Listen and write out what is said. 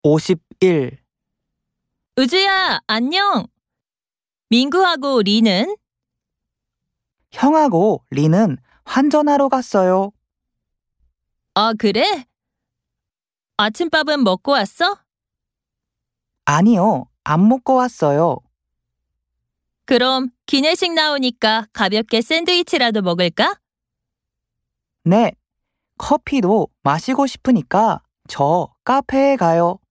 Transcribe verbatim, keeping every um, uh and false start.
오십일. 우주야, 안녕. 민구하고 리는? 형하고 리는 환전하러 갔어요. 아, 그래? 아침밥은 먹고 왔어? 아니요, 안 먹고 왔어요. 그럼 기내식 나오니까 가볍게 샌드위치라도 먹을까? 네, 커피도 마시고 싶으니까 저 카페에 가요.